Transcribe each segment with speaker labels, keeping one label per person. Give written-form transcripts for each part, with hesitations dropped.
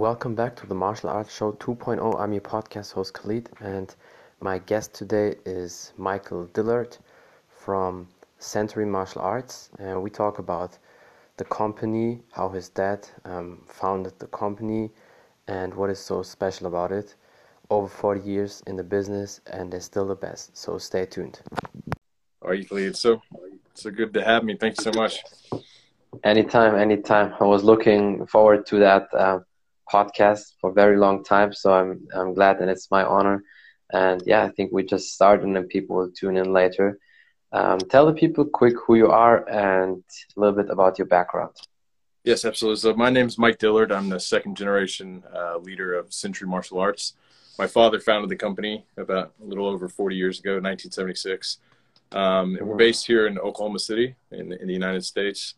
Speaker 1: Welcome back to the Martial Arts Show 2.0. I'm your podcast host Khalid, and my guest today is Michael Dillard from Century Martial Arts. And we talk about the company, how his dad founded the company, and what is so special about it. Over 40 years in the business, and they're still the best. So stay tuned.
Speaker 2: Are you, Khalid? So good to have me. Thank you so much.
Speaker 1: Anytime. I was looking forward to that podcast for a very long time, so I'm glad, and it's my honor. And yeah, I think we just started, and then people will tune in later. Tell the people quick who you are and a little bit about your background.
Speaker 2: Yes, absolutely. So my name is Mike Dillard. I'm the second generation leader of Century Martial Arts. My father founded the company about a little over 40 years ago, 1976. And we're based here in Oklahoma City in the United States.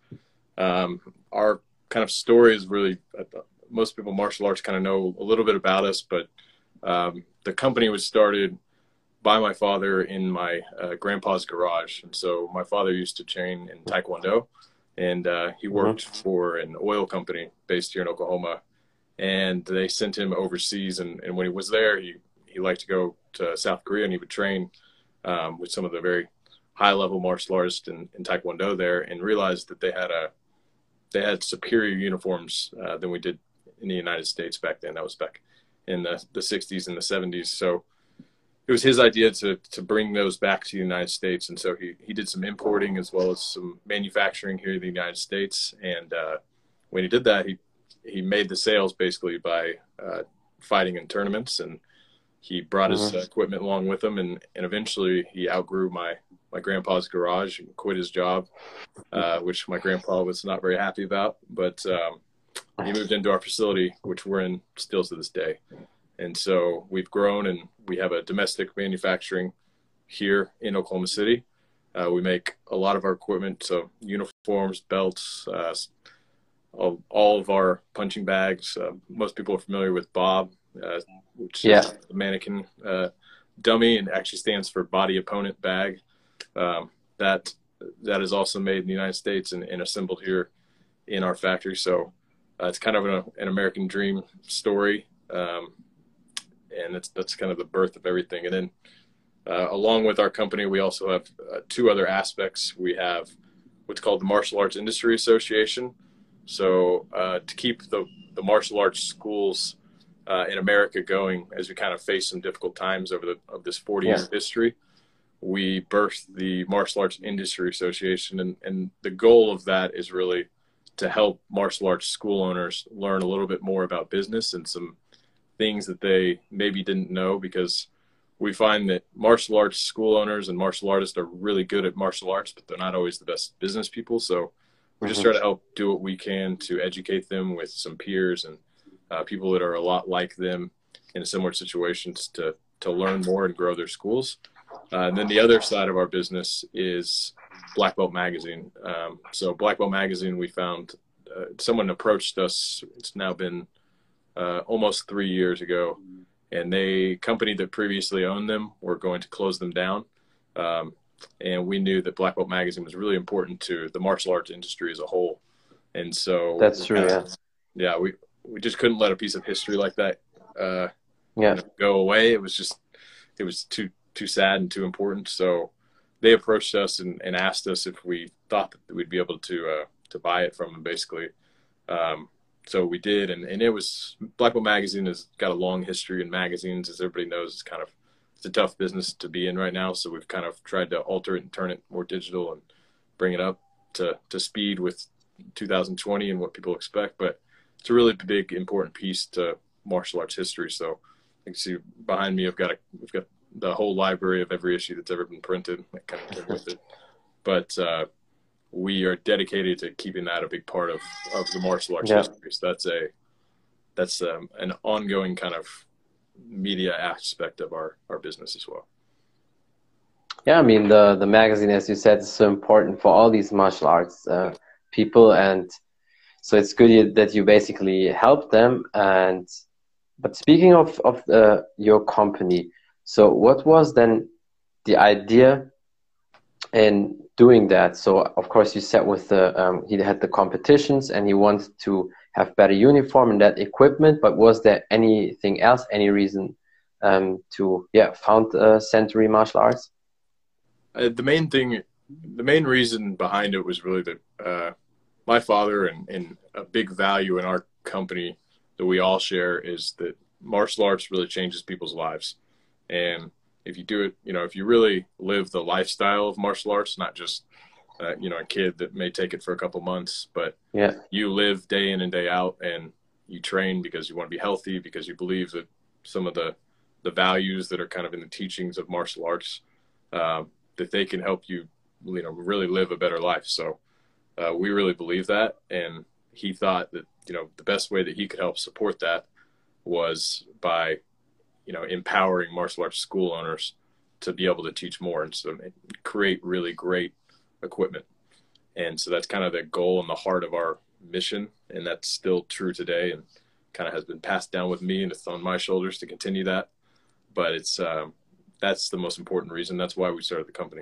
Speaker 2: Our kind of story is really, most people in martial arts kind of know a little bit about us, but the company was started by my father in my grandpa's garage. And so my father used to train in Taekwondo, and he worked for an oil company based here in Oklahoma. And they sent him overseas. And when he was there, he liked to go to South Korea, and he would train with some of the very high-level martial artists in Taekwondo there, and realized that they had superior uniforms than we did in the United States back then. That was back in the 60s and the 70s. So it was his idea to bring those back to the United States. And so he did some importing as well as some manufacturing here in the United States. And when he did that, he made the sales basically by fighting in tournaments, and he brought his equipment along with him, and eventually he outgrew my grandpa's garage and quit his job, which my grandpa was not very happy about. But he moved into our facility, which we're in still to this day. And so we've grown, and we have a domestic manufacturing here in Oklahoma City. We make a lot of our equipment, so uniforms, belts, all of our punching bags. Most people are familiar with Bob, which is the mannequin dummy, and actually stands for body opponent bag. That is also made in the United States and assembled here in our factory. So it's kind of an American dream story, and that's kind of the birth of everything. And then along with our company, we also have two other aspects. We have what's called the Martial Arts Industry Association. So to keep the martial arts schools in America going, as we kind of face some difficult times over this 40-year history, we birthed the Martial Arts Industry Association. And the goal of that is really to help martial arts school owners learn a little bit more about business and some things that they maybe didn't know, because we find that martial arts school owners and martial artists are really good at martial arts, but they're not always the best business people. So we just try to help do what we can to educate them with some peers and people that are a lot like them in similar situations to learn more and grow their schools. And then the other side of our business is Black Belt Magazine. So Black Belt Magazine, we found someone approached us. It's now been almost 3 years ago, and company that previously owned them were going to close them down. And we knew that Black Belt Magazine was really important to the martial arts industry as a whole. And so
Speaker 1: That's true.
Speaker 2: We just couldn't let a piece of history like that go away. It was too sad and too important. So they approached us and asked us if we thought that we'd be able to buy it from them, basically. So we did, and it was, Black Belt Magazine has got a long history in magazines. As everybody knows, it's a tough business to be in right now. So we've kind of tried to alter it and turn it more digital and bring it up to speed with 2020 and what people expect. But it's a really big, important piece to martial arts history. So you can see behind me, we've got the whole library of every issue that's ever been printed that kind of came with it. But we are dedicated to keeping that a big part of the martial arts history. So that's an ongoing kind of media aspect of our business as well.
Speaker 1: Yeah, I mean, the magazine, as you said, is so important for all these martial arts people, and so it's good that you basically help them. But speaking of your company, so what was then the idea in doing that? So of course you said with he had the competitions, and he wanted to have better uniform and that equipment. But was there anything else, any reason to found Century Martial Arts?
Speaker 2: The main reason behind it was really that my father and a big value in our company that we all share is that martial arts really changes people's lives. And if you do it, if you really live the lifestyle of martial arts, not just, a kid that may take it for a couple months, but you live day in and day out, and you train because you want to be healthy, because you believe that some of the values that are kind of in the teachings of martial arts, that they can help you, really live a better life. So we really believe that. And he thought that, the best way that he could help support that was by, empowering martial arts school owners to be able to teach more and so create really great equipment. And so that's kind of the goal and the heart of our mission. And that's still true today and kind of has been passed down with me, and it's on my shoulders to continue that. But it's, that's the most important reason. That's why we started the company.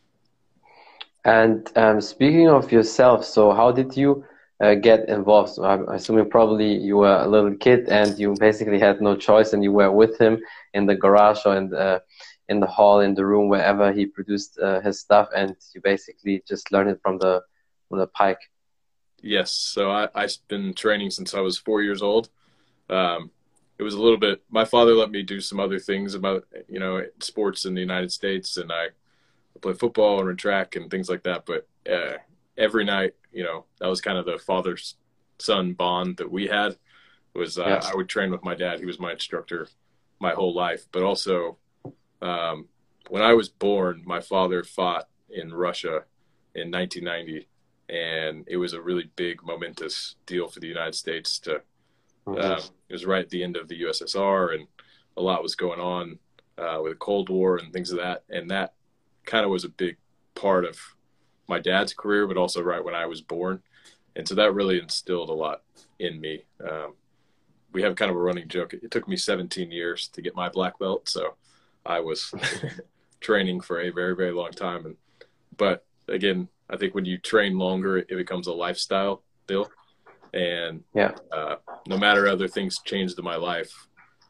Speaker 1: And speaking of yourself, so how did you get involved? So I'm assuming probably you were a little kid and you basically had no choice, and you were with him in the garage or in the hall, in the room, wherever he produced his stuff, and you basically just learned it from the pike.
Speaker 2: Yes. So I've been training since I was 4 years old. It was a little bit, my father let me do some other things about, sports in the United States, and I played football and ran track and things like that. But every night, that was kind of the father-son bond that we had was I would train with my dad. He was my instructor my whole life. But also when I was born, my father fought in Russia in 1990. And it was a really big, momentous deal for the United States to, it was right at the end of the USSR, and a lot was going on with the Cold War and things of that. And that kind of was a big part of my dad's career, but also right when I was born. And so that really instilled a lot in me. We have kind of a running joke. It took me 17 years to get my black belt. So I was training for a very, very long time. But again, I think when you train longer, it becomes a lifestyle deal. And no matter other things changed in my life,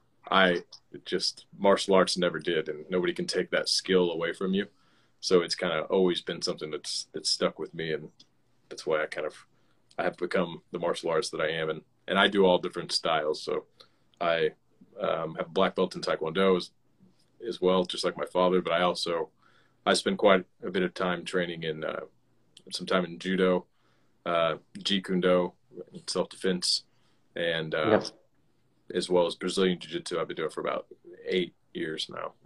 Speaker 2: martial arts never did, and nobody can take that skill away from you. So it's kind of always been something that's stuck with me, and that's why I have become the martial arts that I am. And I do all different styles. So I have a black belt in Taekwondo as well, just like my father. But I spend quite a bit of time training in some time in judo, Jeet Kune Do, self-defense, and as well as Brazilian Jiu-Jitsu. I've been doing it for about 9 years.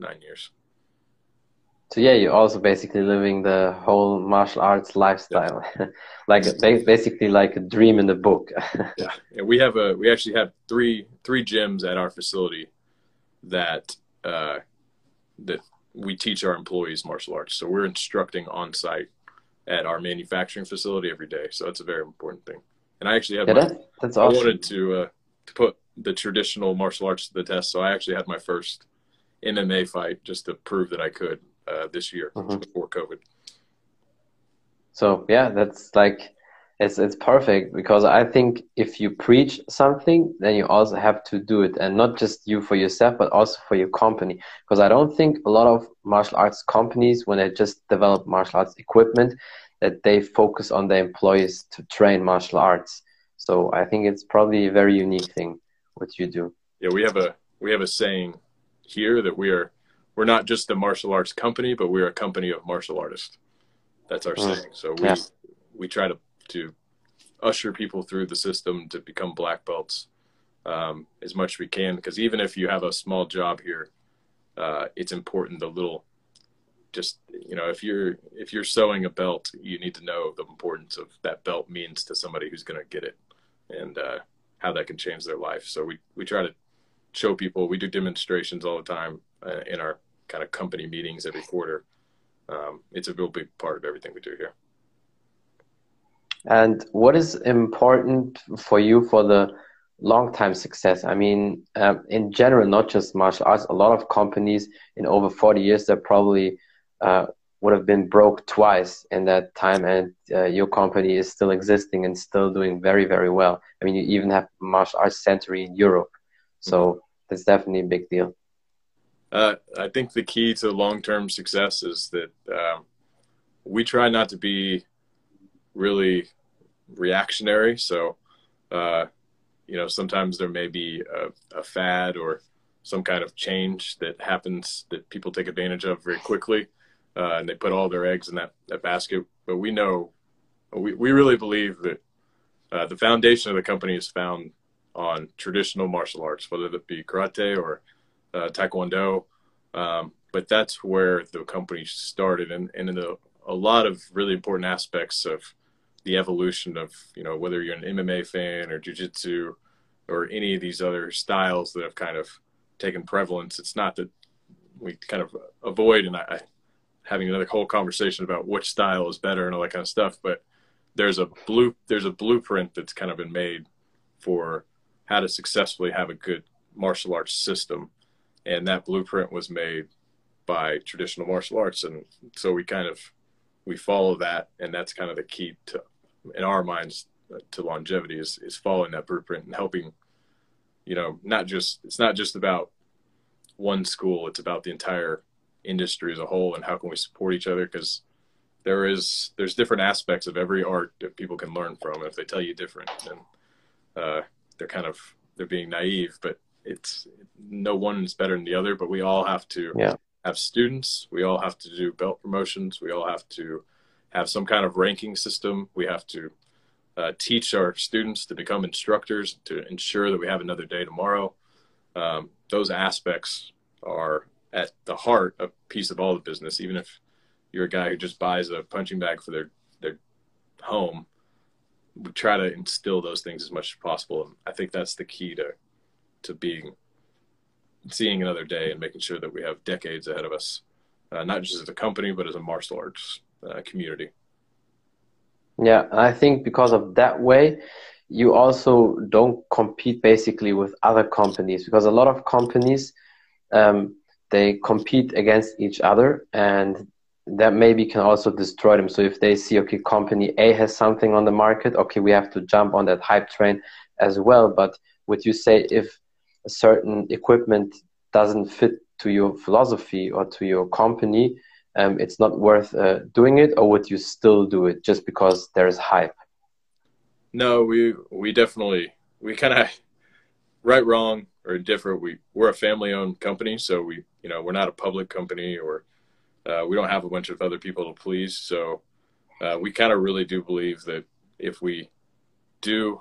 Speaker 1: So you're also basically living the whole martial arts lifestyle, basically like a dream in the book.
Speaker 2: And we actually have three gyms at our facility that we teach our employees martial arts. So we're instructing on site at our manufacturing facility every day. So that's a very important thing. And I actually had
Speaker 1: that's awesome.
Speaker 2: I wanted to put the traditional martial arts to the test. So I actually had my first MMA fight just to prove that I could this year before COVID.
Speaker 1: So that's it's perfect, because I think if you preach something, then you also have to do it, and not just you for yourself, but also for your company. Because I don't think a lot of martial arts companies, when they just develop martial arts equipment, that they focus on their employees to train martial arts. So I think it's probably a very unique thing what you do.
Speaker 2: Yeah, we have a saying here that we're not just a martial arts company, but we're a company of martial artists. That's our saying. So we try to usher people through the system to become black belts as much as we can, because even if you have a small job here, it's important if you're sewing a belt, you need to know the importance of that belt means to somebody who's going to get it, and how that can change their life. So we try to show people. We do demonstrations all the time in our kind of company meetings every quarter. It's a real big part of everything we do here.
Speaker 1: And what is important for you for the long-time success? I mean, in general, not just martial arts, a lot of companies in over 40 years, they're probably would have been broke twice in that time, and your company is still existing and still doing very, very well. I mean, you even have martial arts center in Europe, so that's definitely a big deal.
Speaker 2: I think the key to long-term success is that we try not to be really reactionary. So, sometimes there may be a fad or some kind of change that happens that people take advantage of very quickly, and they put all their eggs in that basket. But we know, we really believe that the foundation of the company is found on traditional martial arts, whether that be karate or taekwondo. But that's where the company started, and in a lot of really important aspects of the evolution of, whether you're an MMA fan or jiu-jitsu or any of these other styles that have kind of taken prevalence. It's not that we kind of avoid having another whole conversation about which style is better and all that kind of stuff, but there's a blueprint that's kind of been made for how to successfully have a good martial arts system. And that blueprint was made by traditional martial arts. And so we follow that. And that's kind of the key to, in our minds, to longevity is following that blueprint and helping, it's not just about one school, it's about the entire industry as a whole and how can we support each other, because there's different aspects of every art that people can learn from. And if they tell you different, then they're being naive, but it's no one is better than the other, but we all have to have students. We all have to do belt promotions. We all have to have some kind of ranking system. We have to teach our students to become instructors to ensure that we have another day tomorrow. Those aspects are at the heart of piece of all the business. Even if you're a guy who just buys a punching bag for their home, we try to instill those things as much as possible. And I think that's the key to seeing another day and making sure that we have decades ahead of us, not just as a company, but as a martial arts community.
Speaker 1: Yeah, I think because of that way, you also don't compete basically with other companies, because a lot of companies, they compete against each other, and that maybe can also destroy them. So if they see, okay, company A has something on the market, okay, we have to jump on that hype train as well. But would you say if a certain equipment doesn't fit to your philosophy or to your company, it's not worth doing it, or would you still do it just because there's hype?
Speaker 2: No, we definitely, we kind of, right, wrong, or different. We're a family-owned company, so we're not a public company, or we don't have a bunch of other people to please. So we kind of really do believe that if we do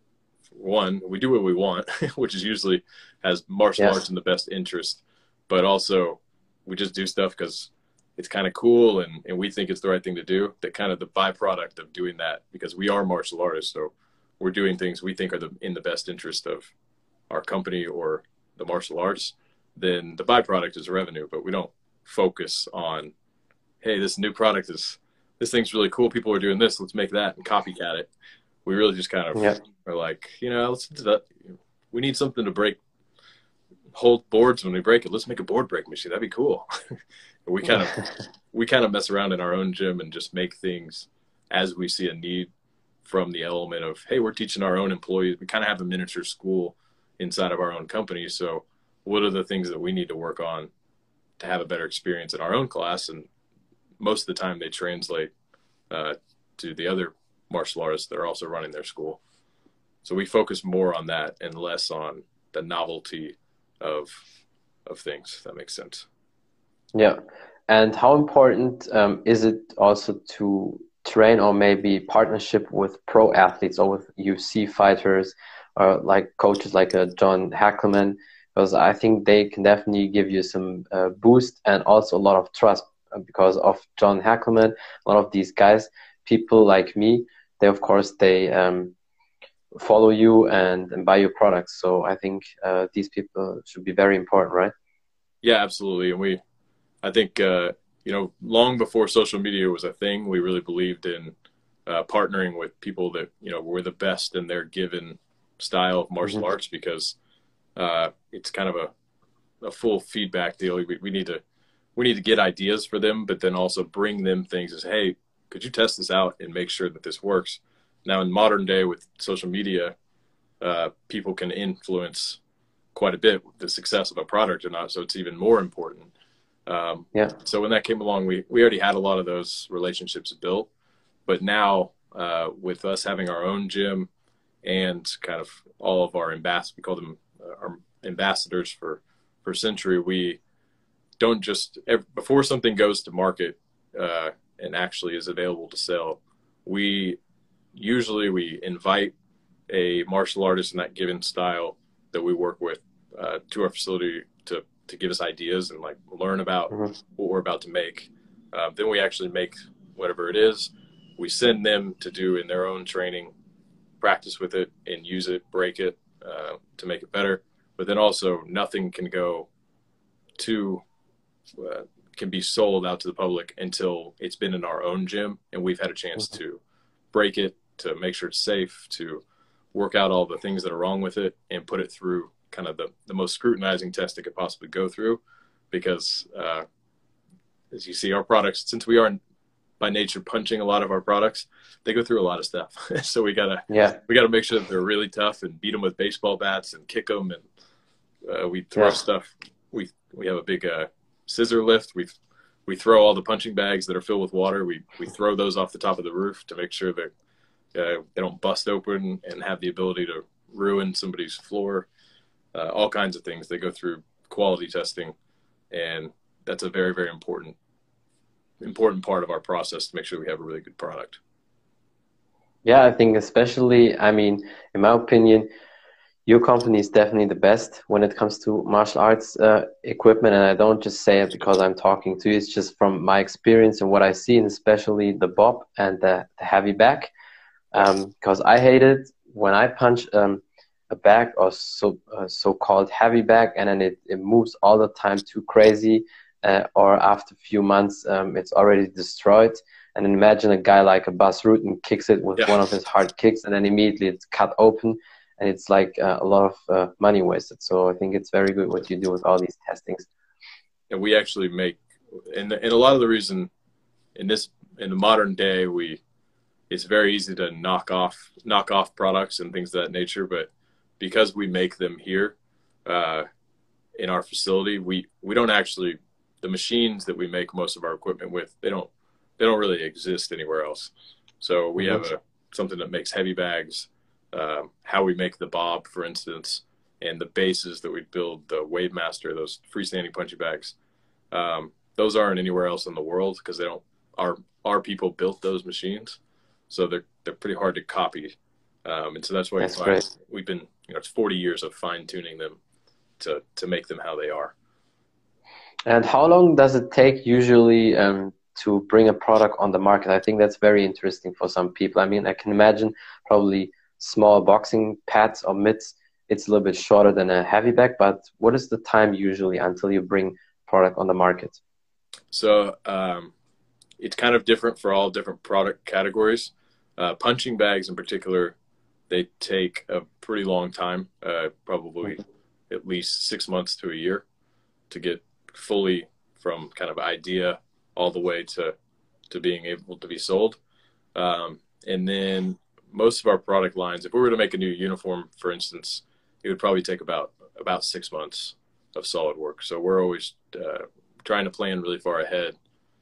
Speaker 2: we do what we want, which is usually has martial arts in the best interest, but also we just do stuff because it's kind of cool and we think it's the right thing to do. That kind of the byproduct of doing that, because we are martial artists, so we're doing things we think are in the best interest of our company or the martial arts, then the byproduct is revenue. But we don't focus on, hey, this thing's really cool, people are doing this, let's make that and copycat it. We really just kind of are like, we need something to hold boards when we break it. Let's make a board break machine. That'd be cool. we kind of mess around in our own gym and just make things as we see a need, from the element of, hey, we're teaching our own employees. We kind of have a miniature school inside of our own company. So what are the things that we need to work on to have a better experience in our own class? And most of the time they translate to the other martial artists that are also running their school. So we focus more on that and less on the novelty of things, if that makes sense.
Speaker 1: Yeah. And how important is it also to train, or maybe partnership with pro athletes or with UFC fighters, or like coaches like John Hackleman? Because I think they can definitely give you some boost and also a lot of trust. Because of John Hackleman, a lot of these guys, people like me, they follow you and buy your products. So I think these people should be very important, right?
Speaker 2: Yeah, absolutely. And I think, long before social media was a thing, we really believed in partnering with people that, were the best in their given style of martial arts, because it's kind of a full feedback deal. We need to we need to get ideas for them, but then also bring them things as, hey, could you test this out and make sure that this works? Now, in modern day with social media, people can influence quite a bit the success of a product or not. So it's even more important.
Speaker 1: Yeah.
Speaker 2: So when that came along, we already had a lot of those relationships built, but now with us having our own gym and kind of all of our we call them our ambassadors for Century, we don't just, before something goes to market and actually is available to sell, we invite a martial artist in that given style that we work with to our facility to give us ideas and like learn about what we're about to make. Then we actually make whatever it is. We send them to do in their own training, practice with it and use it, break it to make it better. But then also nothing can go can be sold out to the public until it's been in our own gym and we've had a chance to break it, to make sure it's safe, to work out all the things that are wrong with it and put it through kind of the most scrutinizing test it could possibly go through. Because as you see, our products, since we are by nature punching a lot of our products, they go through a lot of stuff. So we gotta make sure that they're really tough and beat them with baseball bats and kick them. And we throw stuff. We have a big scissor lift. We throw all the punching bags that are filled with water. We throw those off the top of the roof to make sure that they don't bust open and have the ability to ruin somebody's floor. All kinds of things. They go through quality testing, and that's a very, very important part of our process to make sure we have a really good product.
Speaker 1: Yeah, I think especially, I mean, in my opinion, your company is definitely the best when it comes to martial arts equipment. And I don't just say it because I'm talking to you. It's just from my experience and what I see, and especially the bob and the heavy back. Because I hate it when I punch a bag or so-called heavy bag, and then it moves all the time too crazy. Or after a few months, it's already destroyed. And then imagine a guy like a Bas Rutten kicks it with one of his hard kicks, and then immediately it's cut open. And it's like a lot of money wasted. So I think it's very good what you do with all these testings.
Speaker 2: And we actually make, and a lot of the reason in the modern day, it's very easy to knock off products and things of that nature. But because we make them here in our facility, we don't actually, the machines that we make most of our equipment with, they don't really exist anywhere else. So we have something that makes heavy bags. How we make the bob, for instance, and the bases that we build, the Wave Master, those freestanding punching bags, those aren't anywhere else in the world because our people built those machines, so they're pretty hard to copy, and so that's why we've been, it's 40 years of fine tuning them to make them how they are.
Speaker 1: And how long does it take usually to bring a product on the market? I think that's very interesting for some people. I mean, I can imagine probably small boxing pads or mitts, it's a little bit shorter than a heavy bag, but what is the time usually until you bring product on the market?
Speaker 2: So it's kind of different for all different product categories. Punching bags in particular, they take a pretty long time, probably at least 6 months to a year to get fully from kind of idea all the way to being able to be sold. And then most of our product lines, if we were to make a new uniform, for instance, it would probably take about 6 months of solid work. So we're always trying to plan really far ahead.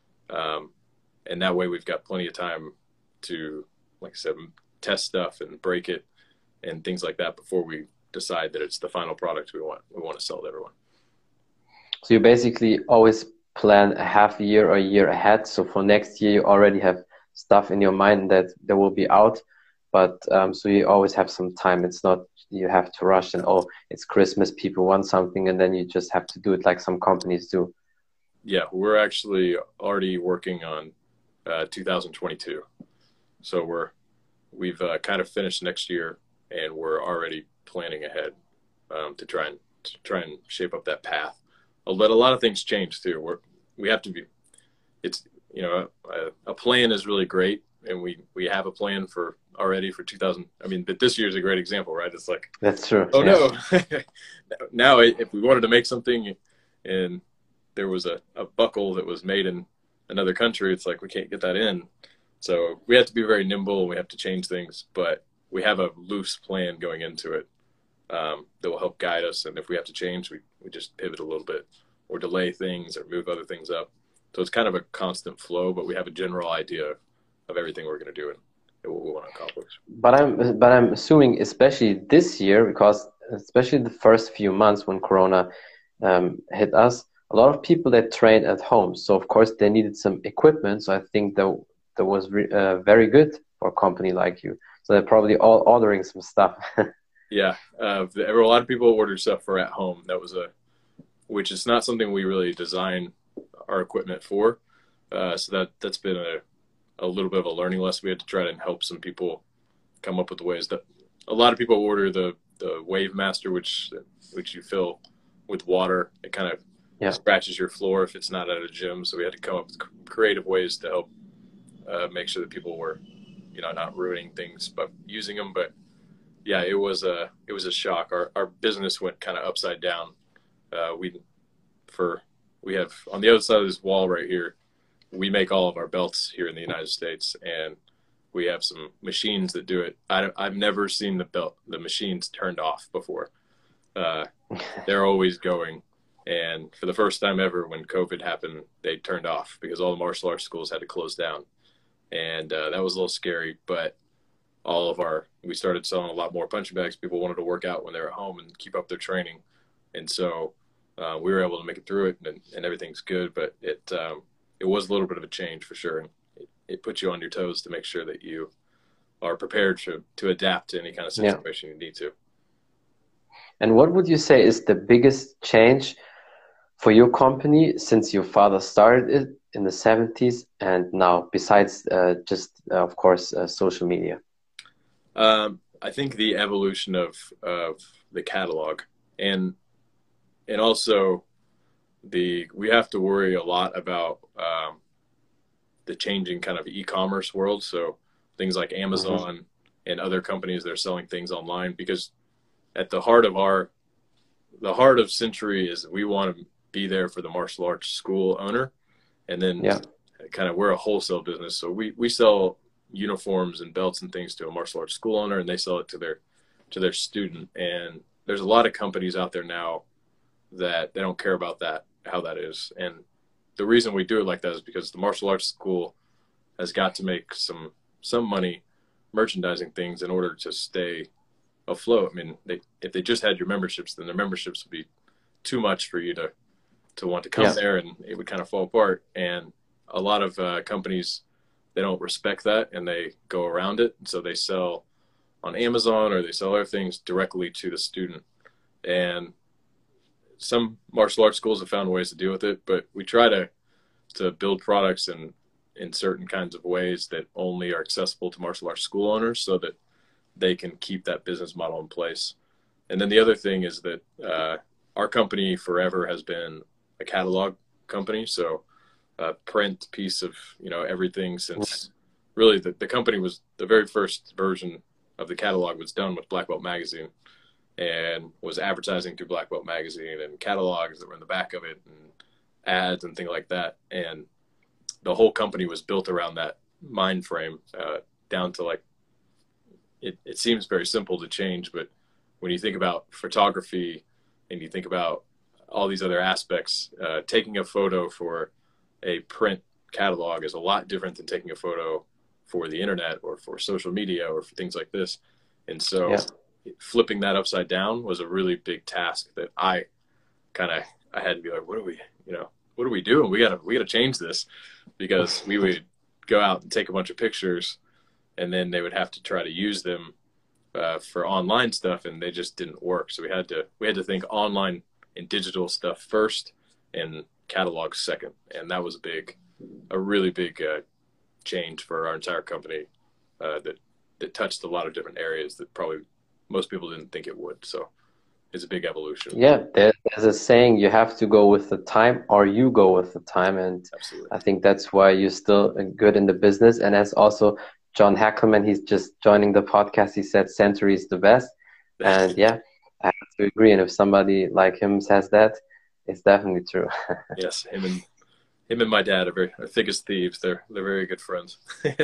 Speaker 2: And that way we've got plenty of time to, like I said, test stuff and break it and things like that before we decide that it's the final product we want to sell to everyone.
Speaker 1: So you basically always plan a half a year or a year ahead. So for next year, you already have stuff in your mind that there will be out. But so you always have some time. It's not you have to rush and, oh, it's Christmas, people want something, and then you just have to do it like some companies do.
Speaker 2: Yeah, we're actually already working on 2022. So we've kind of finished next year, and we're already planning ahead to try and shape up that path. But a lot of things change too. We have to be. It's a plan is really great, and we have a plan already for 2000. I mean, but this year is a great example, right? It's like,
Speaker 1: that's true.
Speaker 2: Oh no, now if we wanted to make something in there was a buckle that was made in another country, it's like we can't get that in. So we have to be very nimble. We have to change things, but we have a loose plan going into it that will help guide us. And if we have to change, we just pivot a little bit or delay things or move other things up. So it's kind of a constant flow, but we have a general idea of everything we're going to do and what we want to accomplish.
Speaker 1: But I'm assuming, especially this year, because especially the first few months when Corona hit us, a lot of people that trained at home. So of course they needed some equipment. So I think that was very good for a company like you. So they're probably all ordering some stuff.
Speaker 2: Yeah, there were a lot of people who ordered stuff for at home. That was which is not something we really design our equipment for. So that's been a little bit of a learning lesson. We had to try to help some people come up with ways that a lot of people order the Wave Master, which you fill with water. It kind of scratches your floor if it's not at a gym. So we had to come up with creative ways to help make sure that people were, not ruining things by using them. But yeah, it was a shock. Our business went kind of upside down. We have on the other side of this wall right here, we make all of our belts here in the United States, and we have some machines that do it. I've never seen the machines turned off before. They're always going. And for the first time ever, when COVID happened, they turned off because all the martial arts schools had to close down. And that was a little scary, but we started selling a lot more punching bags. People wanted to work out when they were at home and keep up their training. And so we were able to make it through it, and everything's good. But it was a little bit of a change for sure. And it puts you on your toes to make sure that you are prepared to adapt to any kind of situation you need to.
Speaker 1: And what would you say is the biggest change for your company since your father started it in the 70s and now, besides of course, social media?
Speaker 2: I think the evolution of the catalog and also we have to worry a lot about the changing kind of e-commerce world. So things like Amazon and other companies that are selling things online, because at the heart of Century is we want to be there for the martial arts school owner. And then kind of we're a wholesale business. So we sell uniforms and belts and things to a martial arts school owner, and they sell it to their student. And there's a lot of companies out there now that they don't care about how that is. And the reason we do it like that is because the martial arts school has got to make some money merchandising things in order to stay afloat. I mean, if they just had your memberships, then their memberships would be too much for you to want to come there, and it would kind of fall apart. And a lot of companies, they don't respect that, and they go around it. And so they sell on Amazon or they sell other things directly to the student. And some martial arts schools have found ways to deal with it, but we try to build products in certain kinds of ways that only are accessible to martial arts school owners so that they can keep that business model in place. And then the other thing is that our company forever has been a catalog company. So a print piece of, everything since really the company was the very first version of the catalog was done with Black Belt Magazine and was advertising through Black Belt Magazine and catalogs that were in the back of it and ads and things like that. And the whole company was built around that mind frame down to like, it seems very simple to change, but when you think about photography and you think about all these other aspects, taking a photo for a print catalog is a lot different than taking a photo for the internet or for social media or for things like this. And so flipping that upside down was a really big task that I had to be like, what are we doing? We gotta change this, because we would go out and take a bunch of pictures and then they would have to try to use them for online stuff, and they just didn't work. So we had to think online and digital stuff first and catalog second. And that was a really big change for our entire company that touched a lot of different areas that probably most people didn't think it would. So it's a big evolution.
Speaker 1: Yeah, there's a saying, you have to go with the time or you go with the time. And
Speaker 2: absolutely.
Speaker 1: I think that's why you're still good in the business. And as also John Hackleman, he's just joining the podcast, he said Century is the best. And yeah, I have to agree. And if somebody like him says that, It's definitely true.
Speaker 2: Yes, him and my dad are thick as thieves. They're very good friends.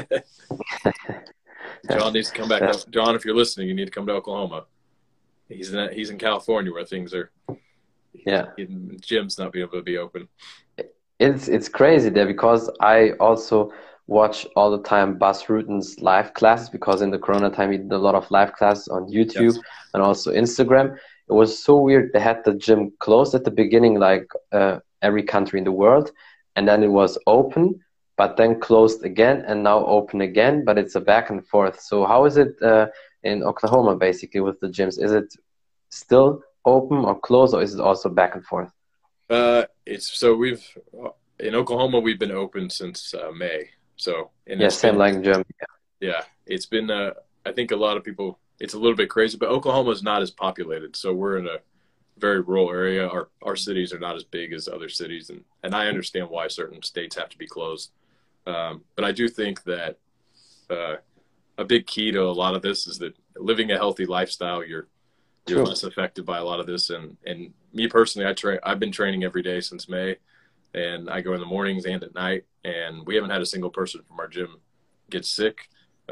Speaker 2: John needs to come back.
Speaker 1: Yeah.
Speaker 2: John, if you're listening, you need to come to Oklahoma. He's in California where things are
Speaker 1: Yeah.
Speaker 2: gyms not being able to be open.
Speaker 1: It's crazy there because I also watch all the time Bas Rutten's live classes because in the Corona time he did a lot of live classes on YouTube
Speaker 2: Yes.
Speaker 1: and also Instagram. It was so weird. They had the gym closed at the beginning, like every country in the world, and then it was open, but then closed again and now open again. But it's a back and forth. So how is it in Oklahoma basically with the gyms? Is it still open or closed, or is it also back and forth?
Speaker 2: It's so we've in Oklahoma we've been open since May. So and
Speaker 1: Yeah,
Speaker 2: it's
Speaker 1: same
Speaker 2: been
Speaker 1: like in Germany.
Speaker 2: yeah, it's been I think a lot of people it's a little bit crazy, but Oklahoma is not as populated. So we're in a very rural area. Our cities are not as big as other cities, and I understand why certain states have to be closed. But I do think that uh, a big key to a lot of this is that living a healthy lifestyle, you're
Speaker 1: True.
Speaker 2: less affected by a lot of this. And me personally, I've been training every day since May, and I go in the mornings and at night, and we haven't had a single person from our gym get sick.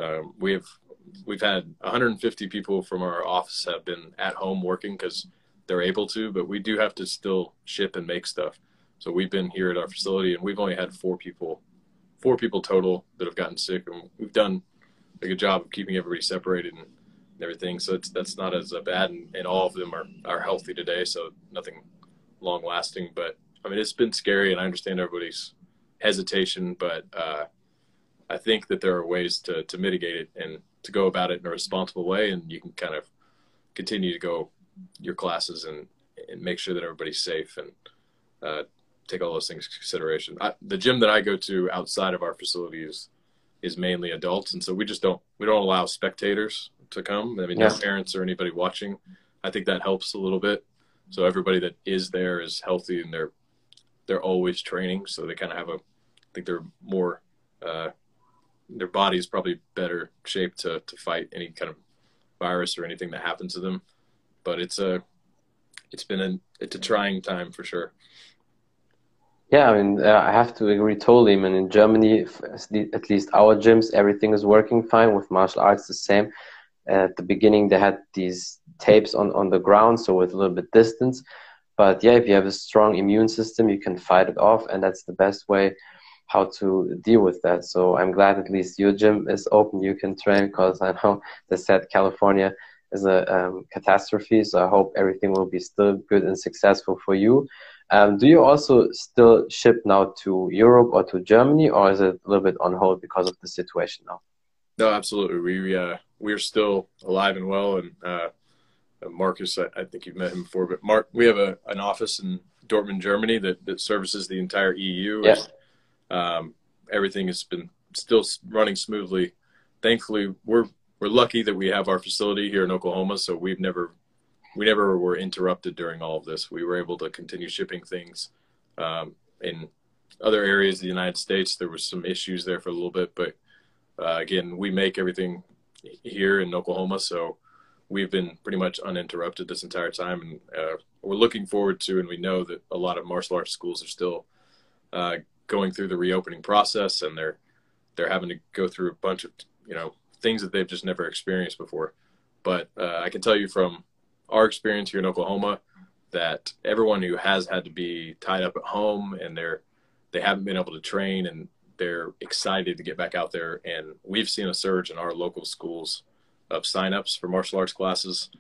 Speaker 2: We've had 150 people from our office have been at home working because they're able to, but we do have to still ship and make stuff. So we've been here at our facility, and we've only had four people total that have gotten sick, and we've done a good job of keeping everybody separated and everything. So that's not as bad, and all of them are healthy today. So nothing long lasting, but I mean, it's been scary, and I understand everybody's hesitation, but I think that there are ways to mitigate it and to go about it in a responsible way, and you can kind of continue to go your classes and make sure that everybody's safe and uh, take all those things into consideration. The gym that I go to outside of our facility is mainly adults, and so we don't allow spectators to come. I mean, no
Speaker 1: Yeah.
Speaker 2: parents or anybody watching. I think that helps a little bit. So everybody that is there is healthy and they're always training, so they kind of have a. I think they're more. Their body is probably better shaped to fight any kind of virus or anything that happens to them. But it's a trying time for sure.
Speaker 1: Yeah, I mean, I have to agree totally. I mean, in Germany, at least our gyms, everything is working fine. With martial arts, the same. At the beginning, they had these tapes on the ground, so with a little bit distance. But yeah, if you have a strong immune system, you can fight it off, and that's the best way how to deal with that. So I'm glad at least your gym is open. You can train because I know they said California is a catastrophe. So I hope everything will be still good and successful for you. Do you also still ship now to Europe or to Germany, or is it a little bit on hold because of the situation now?
Speaker 2: No, absolutely. We're still alive and well, and Marcus, I think you've met him before, but Mark, we have an office in Dortmund, Germany that services the entire EU,
Speaker 1: Yeah.
Speaker 2: and everything has been still running smoothly. Thankfully, we're lucky that we have our facility here in Oklahoma, so we never were interrupted during all of this. We were able to continue shipping things. In other areas of the United States, there was some issues there for a little bit, but again, we make everything here in Oklahoma, so we've been pretty much uninterrupted this entire time, and we're looking forward to, and we know that a lot of martial arts schools are still uh, going through the reopening process, and they're having to go through a bunch of things that they've just never experienced before. But I can tell you from our experience here in Oklahoma that everyone who has had to be tied up at home and they haven't been able to train and they're excited to get back out there. And we've seen a surge in our local schools of signups for martial arts classes,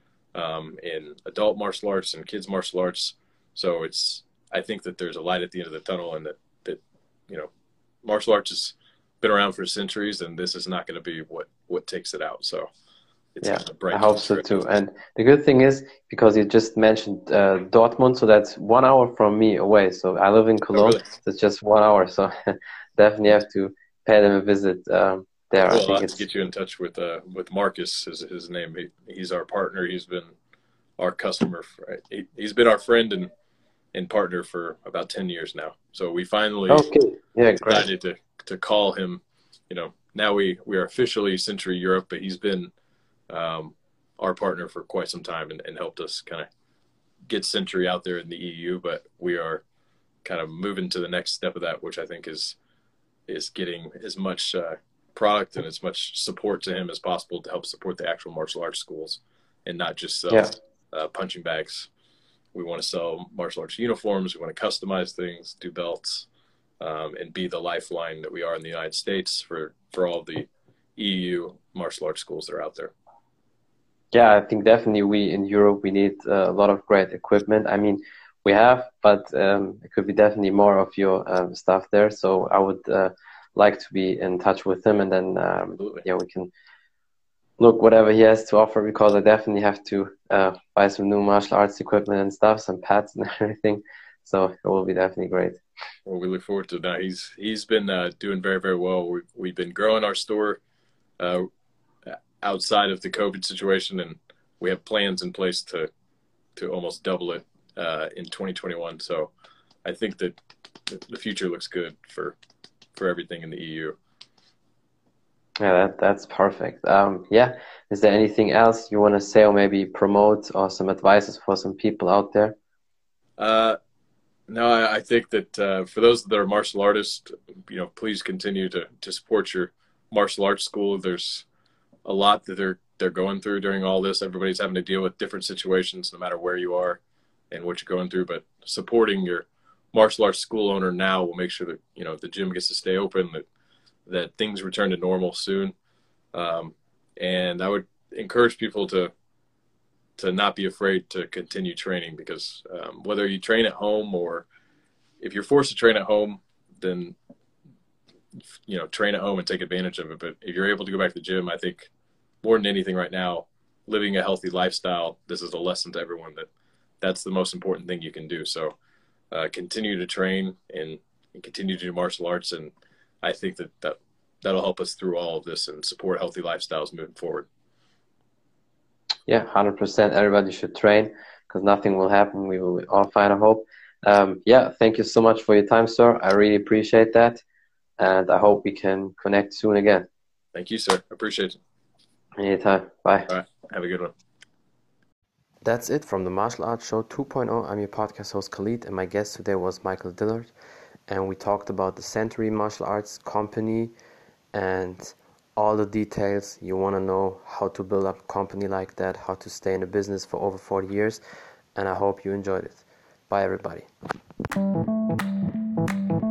Speaker 2: in adult martial arts and kids martial arts. So I think that there's a light at the end of the tunnel, and that martial arts has been around for centuries, and this is not going to be what takes it out. So it's
Speaker 1: Yeah,
Speaker 2: got a
Speaker 1: I
Speaker 2: bright
Speaker 1: hope so
Speaker 2: future.
Speaker 1: too. And the good thing is, because you just mentioned Dortmund, so that's 1 hour from me away. So I live in
Speaker 2: Oh,
Speaker 1: Cologne,
Speaker 2: really?
Speaker 1: so it's just 1 hour. So definitely have to pay them a visit there. I
Speaker 2: Well, I'll
Speaker 1: think
Speaker 2: have to
Speaker 1: it's
Speaker 2: get you in touch with Marcus, is his name. He's our partner. He's been our customer. He's been our friend and partner for about 10 years now. So we finally
Speaker 1: okay. Yeah, great.
Speaker 2: decided to call him. Now we are officially Century Europe, but he's been our partner for quite some time and helped us kind of get Century out there in the EU, but we are kind of moving to the next step of that, which I think is getting as much product and as much support to him as possible to help support the actual martial arts schools and not just sell punching bags. We want to sell martial arts uniforms. We want to customize things, do belts, and be the lifeline that we are in the United States for all the EU martial arts schools that are out there.
Speaker 1: Yeah, I think definitely we in Europe, we need a lot of great equipment. I mean, we have, but it could be definitely more of your stuff there. So I would like to be in touch with him, and then we can look whatever he has to offer, because I definitely have to buy some new martial arts equipment and stuff, some pads and everything. So it will be definitely great.
Speaker 2: Well, we look forward to it. Now he's been doing very, very well. We've been growing our store outside of the COVID situation, and we have plans in place to almost double it in 2021. So I think that the future looks good for everything in the EU.
Speaker 1: Yeah, that's perfect. Is there anything else you want to say, or maybe promote, or some advices for some people out there?
Speaker 2: No, I think that for those that are martial artists, please continue to support your martial arts school. There's a lot that they're going through during all this. Everybody's having to deal with different situations, no matter where you are and what you're going through. But supporting your martial arts school owner now will make sure that the gym gets to stay open, that things return to normal soon. And I would encourage people to not be afraid to continue training, because whether you train at home or if you're forced to train at home, then train at home and take advantage of it. But if you're able to go back to the gym, I think more than anything right now, living a healthy lifestyle, this is a lesson to everyone that's the most important thing you can do. So continue to train and continue to do martial arts, and I think that'll help us through all of this and support healthy lifestyles moving forward.
Speaker 1: Yeah, 100%. Everybody should train, because nothing will happen. We will all find a hope. Thank you so much for your time, sir. I really appreciate that. And I hope we can connect soon again.
Speaker 2: Thank you, sir. Appreciate it.
Speaker 1: Anytime. Bye.
Speaker 2: All right. Have a good one.
Speaker 1: That's it from the Martial Arts Show 2.0. I'm your podcast host, Khalid, and my guest today was Michael Dillard. And we talked about the Century Martial Arts Company and all the details you want to know, how to build up a company like that, how to stay in the business for over 40 years. And I hope you enjoyed it. Bye, everybody.